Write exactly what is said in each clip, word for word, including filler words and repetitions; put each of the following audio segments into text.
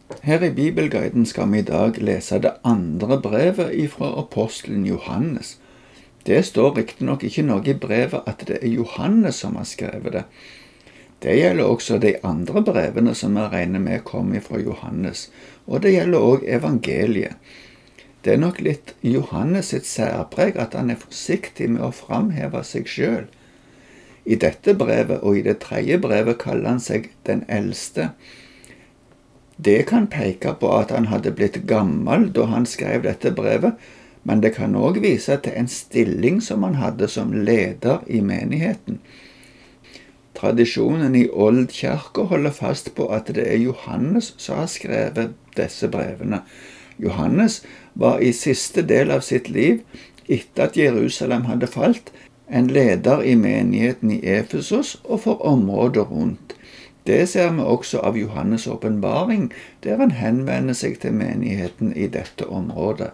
Her i Bibelguiden skal vi i dag lese det andre brevet ifra apostelen Johannes. Det står riktignok ikke noe i brevet at det er Johannes som har skrevet det. Det gjelder også de andre brevene som vi regner med kom ifra Johannes, og det gjelder også evangeliet. Det er nok litt Johannes sitt særpreg at han er forsiktig med å framheve seg selv. I dette brevet og i det tredje brevet kaller han seg den eldste. Det kan peke på at han hadde blitt gammel da han skrev dette brevet, men det kan også vise til en stilling som han hadde som leder i menigheten. Tradisjonen i Oldkirka holder fast på at det er Johannes som har skrevet disse brevene. Johannes var i siste del av sitt liv, etter at Jerusalem hadde falt, en leder i menigheten i Efesos og for området rundt. Det ser vi også av Johannes' åpenbaring, der han henvender seg til menigheten i dette området.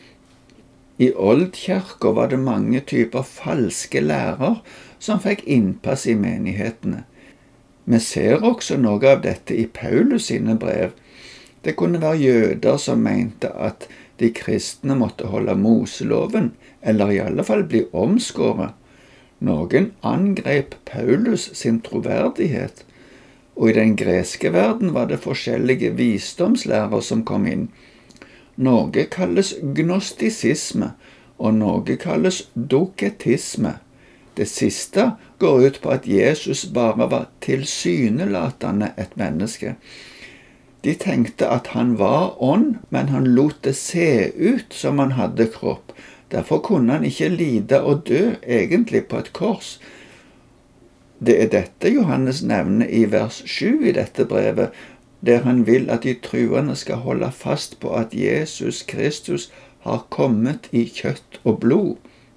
I Oldkirka var det mange typer falske lærer som fikk innpass i menighetene. Vi ser også noe av dette i Paulus sine brev. Det kunne være jøder som mente at de kristne måtte holde Moseloven, eller i alle fall bli omskåret. Noen angrep Paulus sin troverdighet, og i den greske verden var det forskjellige visdomslærer som kom inn. Noe kalles gnostisisme, og noe kalles doketisme. Det siste går ut på at Jesus bare var tilsynelatende et menneske. De tenkte at han var ånd, men han lot det se ut som han hadde kropp. Derfor kunne han ikke lide og dø egentlig på et kors. Det er dette Johannes nevner i vers sju i dette brevet, der han vil at de truende skal holde fast på at Jesus Kristus har kommet i kjøtt og blod.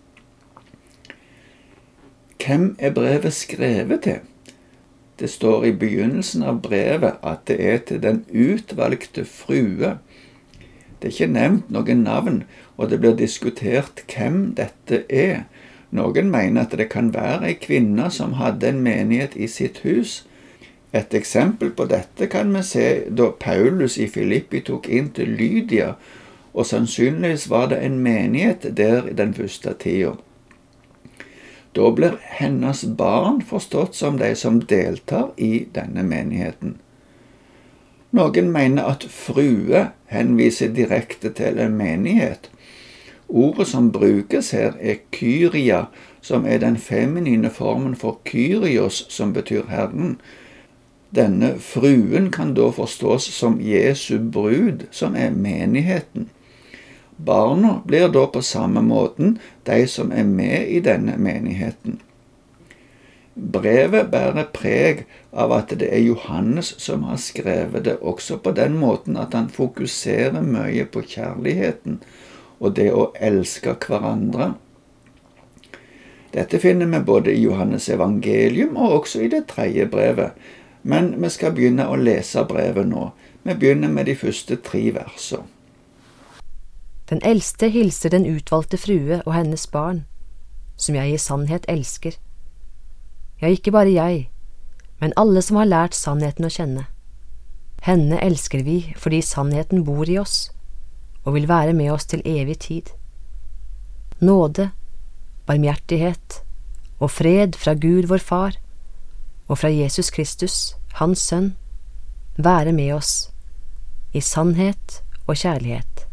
Hvem er brevet skrevet til? Det står i begynnelsen av brevet at det er til den utvalgte frue. Det er ikke nevnt noen navn, og det blir diskutert hvem dette er. Noen mener at det kan være en kvinne som hadde en menighet i sitt hus. Et eksempel på dette kan vi se da Paulus i Filippi tok inn til Lydia, og sannsynligvis var det en menighet der i den første tida. Da blir hennes barn forstått som de som deltar i denne menigheten. Noen mener at frue henviser direkte til en menighet. Ordet som brukes her er kyria, som er den feminine formen for kyrios, som betyr Herren. Denne fruen kan da forstås som Jesu brud, som er menigheten. Barna blir da på samme måten de som er med i denne menigheten. Brevet bærer preg av at det er Johannes som har skrevet det, også på den måten at han fokuserer mye på kjærligheten og det å elske hverandre. Dette finner vi både i Johannes evangelium og også i det tredje brevet, men vi skal begynne å lese brevet nå. Vi begynner med de første tre versene. Den eldste hilser den utvalgte frue og hennes barn, som jeg i sannhet elsker. Ja, ikke bare jeg, men alle som har lært sannheten å kjenne. Henne elsker vi fordi sannheten bor i oss, og vil være med oss til evig tid. Nåde, barmhjertighet og fred fra Gud vår Far, og fra Jesus Kristus, hans Sønn, være med oss i sannhet og kjærlighet.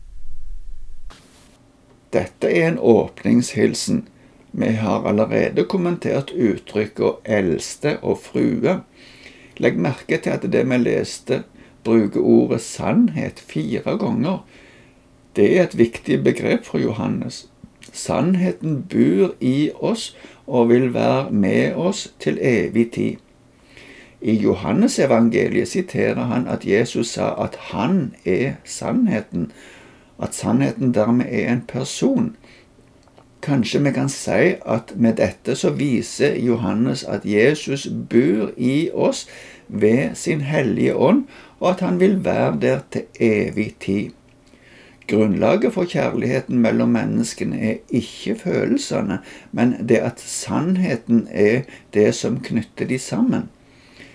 Dette er en åpningshilsen. Vi har allerede kommentert uttrykket eldste og frue. Legg merke til at det vi leste bruker ordet sannhet fire ganger. Det er et viktig begrep for Johannes. Sannheten bor i oss og vil være med oss til evig tid. I Johannes evangeliet siterer han at Jesus sa at han er sannheten, at sannheten dermed er en person. Kanskje vi kan si at med dette så viser Johannes at Jesus bor i oss ved sin hellige ånd, og at han vil være der til evig tid. Grunnlaget for kjærligheten mellom menneskene er ikke følelsene, men det at sannheten er det som knytter de sammen.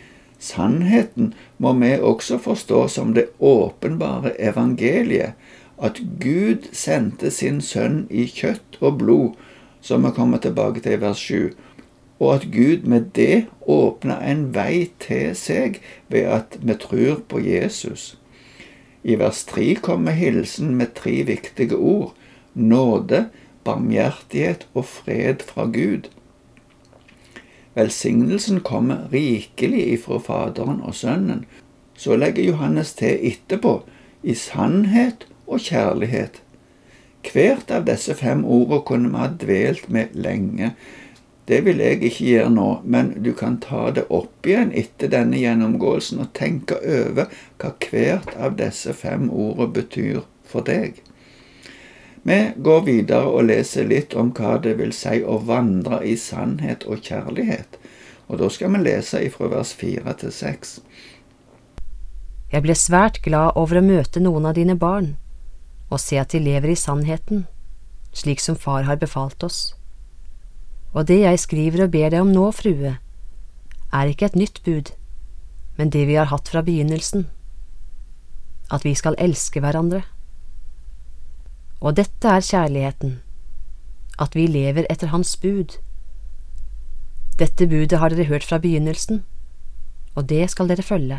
Sannheten må vi også forstå som det åpenbare evangeliet, at Gud sendte sin sønn i kjøtt og blod, som vi kommer tilbake til i vers sju, og at Gud med det åpner en vei til seg ved at vi tror på Jesus. I vers tre kommer hilsen med tre viktige ord: nåde, barmhjertighet og fred fra Gud. Velsignelsen kommer rikelig ifra Faderen og Sønnen. Så legger Johannes til etterpå, i sannhet og kjærlighet. Hvert av disse fem ordene kunne vi ha dvelt med lenge. Det vil jeg ikke gjøre nå, men du kan ta det opp igjen etter denne gjennomgåelsen og tenke over hva hvert av disse fem ordene betyr for deg. Vi går videre og leser litt om hva det vil si å vandre i sannhet og kjærlighet. Og da skal vi lese ifra vers fire til seks. Jeg ble svært glad over å møte noen av dine barn, og se at de lever i sannheten, slik som far har befalt oss. Og det jeg skriver og ber deg om nå, frue, er ikke et nytt bud, men det vi har hatt fra begynnelsen, at vi skal elske hverandre. Og dette er kjærligheten, at vi lever etter hans bud. Dette budet har dere hørt fra begynnelsen, og det skal dere følge.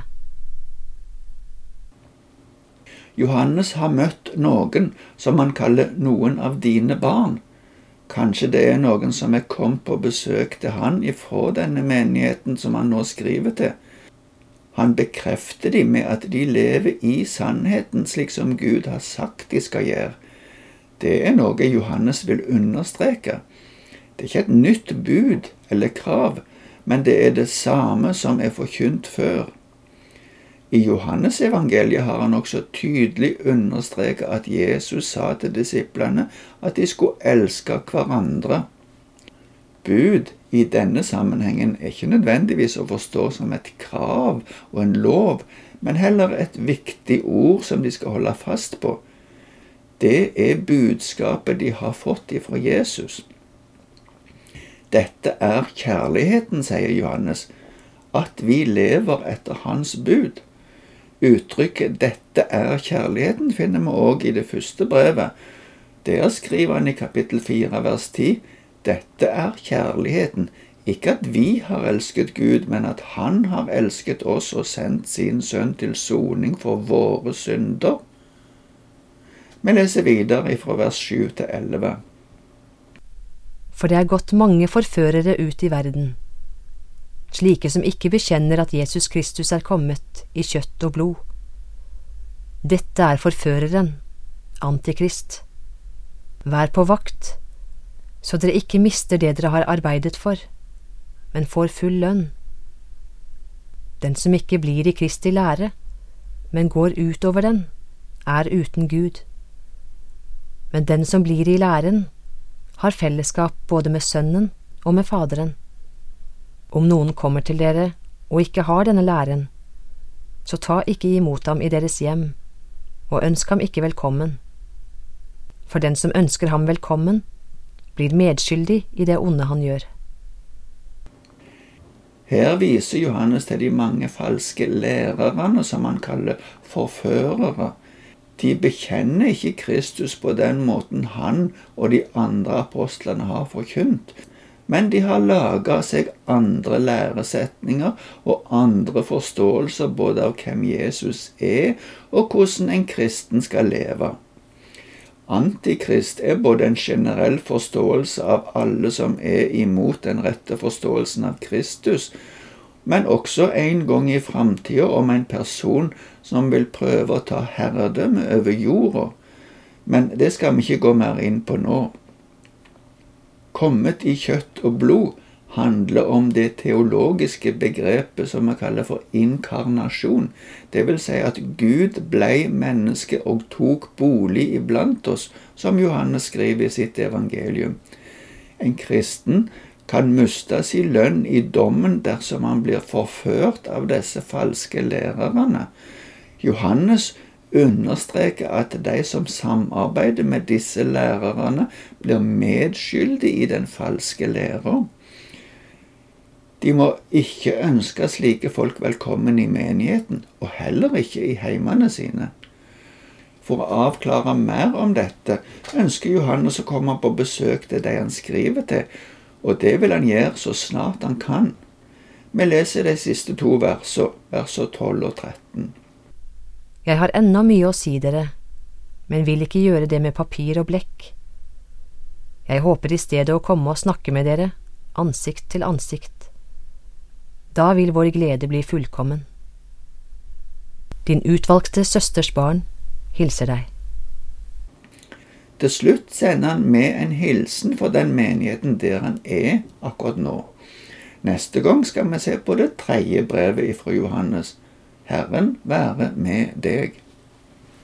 Johannes har møtt noen som han kaller noen av dine barn. Kanskje det er noen som er kommet på besøk til han ifra denne menigheten som han nå skriver til. Han bekrefter dem med at de lever i sannheten slik som Gud har sagt de skal gjøre. Det er noe Johannes vil understreke. Det er ikke et nytt bud eller krav, men det er det samme som er forkynt før. I Johannes evangeliet har han også tydelig understreket at Jesus sa til disiplene at de skulle elske hverandre. Bud i denne sammenhengen er ikke nødvendigvis å forstå som et krav og en lov, men heller et viktig ord som de skal holde fast på. Det er budskapet de har fått ifra Jesus. Dette er kjærligheten, sier Johannes, at vi lever etter hans bud. Uttrykket «dette er kjærligheten» finner vi også i det første brevet. Der skriver han i kapittel fire, vers ti, «Dette er kjærligheten, ikke at vi har elsket Gud, men at han har elsket oss og sendt sin sønn til soning for våre synder.» Vi leser videre fra vers sju til elleve. For det er gått mange forførere ut i verden, slike som ikke bekjenner at Jesus Kristus er kommet i kjøtt og blod. Dette er forføreren, Antikrist. Vær på vakt, så dere ikke mister det dere har arbeidet for, men får full lønn. Den som ikke blir i Kristi lære, men går utover den, er uten Gud. Men den som blir i læren, har fellesskap både med Sønnen og med Faderen. Om noen kommer til dere og ikke har denne læren, så ta ikke imot ham i deres hjem, og ønsk ham ikke velkommen. For den som ønsker ham velkommen, blir medskyldig i det onde han gjør. Her viser Johannes til de mange falske lærerne som han kaller forførere. De bekjenner ikke Kristus på den måten han og de andre apostlene har forkynt, men de har laget seg andre læresetninger og andre forståelser både av hvem Jesus er og hvordan en kristen skal leve. Antikrist er både en generell forståelse av alle som er imot den rette forståelsen av Kristus, men også en gang i fremtiden om en person som vil prøve å ta herredømme over jorda. Men det skal vi ikke gå mer inn på nå. Kommet i kjøtt og blod handler om det teologiske begrepet som vi kaller for inkarnasjon. Det vil si at Gud ble menneske og tok bolig iblant oss, som Johannes skriver i sitt evangelium. En kristen kan miste sin lønn i dommen dersom han blir forført av disse falske lærerne. Johannes understreker at de som samarbeider med disse lærerne blir medskyldige i den falske læren. De må ikke ønske slike folk velkommen i menigheten, og heller ikke i heimene sine. For å avklare mer om dette ønsker Johannes å komme på besøk til de han skriver til, og det vil han gjøre så snart han kan. Vi leser de siste to versene, versene tolv og tretten. Jeg har ennå mye å si dere, men vil ikke gjøre det med papir og blekk. Jeg håper i stedet å komme og snakke med dere, ansikt til ansikt. Da vil vår glede bli fullkommen. Din utvalgte søsters barn hilser deg. Til slutt sender han med en hilsen for den menigheten der han er akkurat nå. Neste gang skal vi se på det tredje brevet fra Johannes. Herren være med deg.